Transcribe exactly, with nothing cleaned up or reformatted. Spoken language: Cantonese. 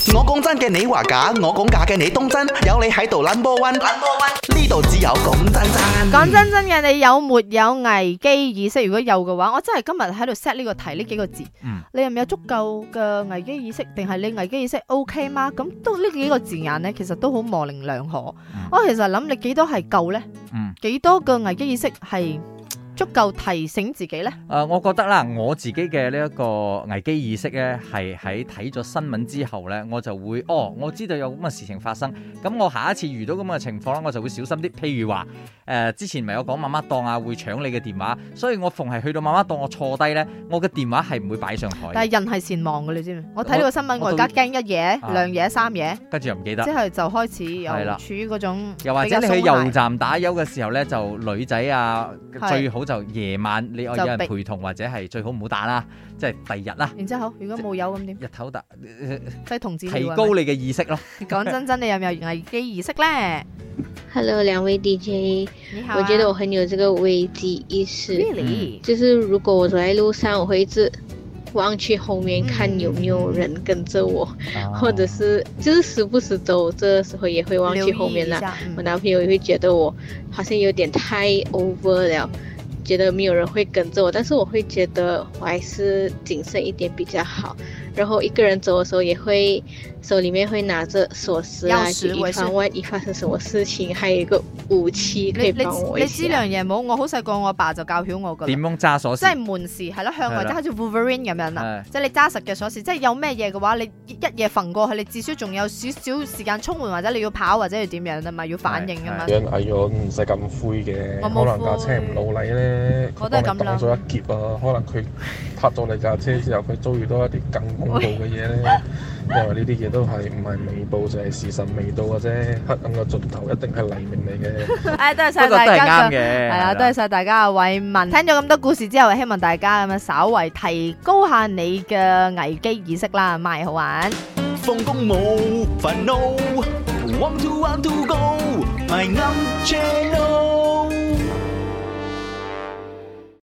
我講真嘅，你話假；我講假嘅，你當真。有你喺度 number one，number one，呢度只有講真真。 講真真嘅，你有沒有危機意識？如果有嘅話，我真係今日喺度 set 呢個題呢幾個字。嗯、你有唔有足夠嘅危機意識？定係你危機意識 OK 嗎？咁都呢幾個字眼呢，其實都好模棱兩可。嗯、我其實諗你幾多係夠呢？嗯、幾多個危機意識係足夠提醒自己呢？誒、 呃，我覺得啦，我自己嘅呢一個危機意識咧，係喺睇咗新聞之後咧，我就會哦，我知道有咁嘅事情發生，咁我下一次遇到咁嘅情況咧，我就會小心啲。譬如話誒、呃，之前咪有講媽媽檔啊會搶你嘅電話，所以我逢係去到媽媽檔，我坐低咧，我嘅電話係唔會擺上台。但係人係善忘嘅，你知唔知？我睇呢個新聞，我而家驚一嘢、啊、兩嘢、三嘢，跟住又唔記得，之後就開始又處於嗰種。又或者你去油站打油嘅時候咧，就女仔啊，最好就夜晚你有人陪同，或者係最好唔好打啦，即係第二日啦。然之後如果冇油咁點？日頭打，即係同志提高你嘅意識咯。講真真，你有冇危機意識咧 ？Hello， 兩位 D J， 你好、啊。我覺得我很有這個危機意識。Really？ 就是如果我走在路上，我會一直望去後面看有沒有人跟着我，嗯、或者是就是時不時走這時候也會望去後面啦。嗯、我男朋友也會覺得我好像有點太 over 了。覺得沒有人會跟着我，但是我會覺得我還是謹慎一點比較好。然後一個人走的時候，也會手裏面會拿着鎖匙啊，以防萬一發生什麼事情，還有一個武器可以幫我一下。你知樣嘢冇？我好細個，我阿爸就教曉我噶。點樣揸鎖匙？即係門匙係咯，向外，即係好似 Wolverine 咁樣啦。即係你揸實嘅鎖匙，即係有咩嘢嘅話，你一夜揈過去，你至少仲有少少時間衝門，或者你要跑，或者要點樣啊嘛，要反應啊嘛。 人矮咗唔使咁灰嘅，可能架車唔老禮咧， 我都係咁諗。 擋咗一劫啊，可能佢撻咗你架車之後，佢遭遇到一啲更恐怖嘅嘢咧。因為呢啲嘢都係唔係未報就係時辰未到嘅啫，黑暗嘅盡頭一定係黎明嚟嘅。誒，多謝晒大家嘅，係啊，多謝晒大家嘅慰問。聽咗咁多故事之後，希望大家咁樣稍為提高下你嘅危機意識啦，咪好玩。 放工冇煩惱 ，want to want to go，my own channel。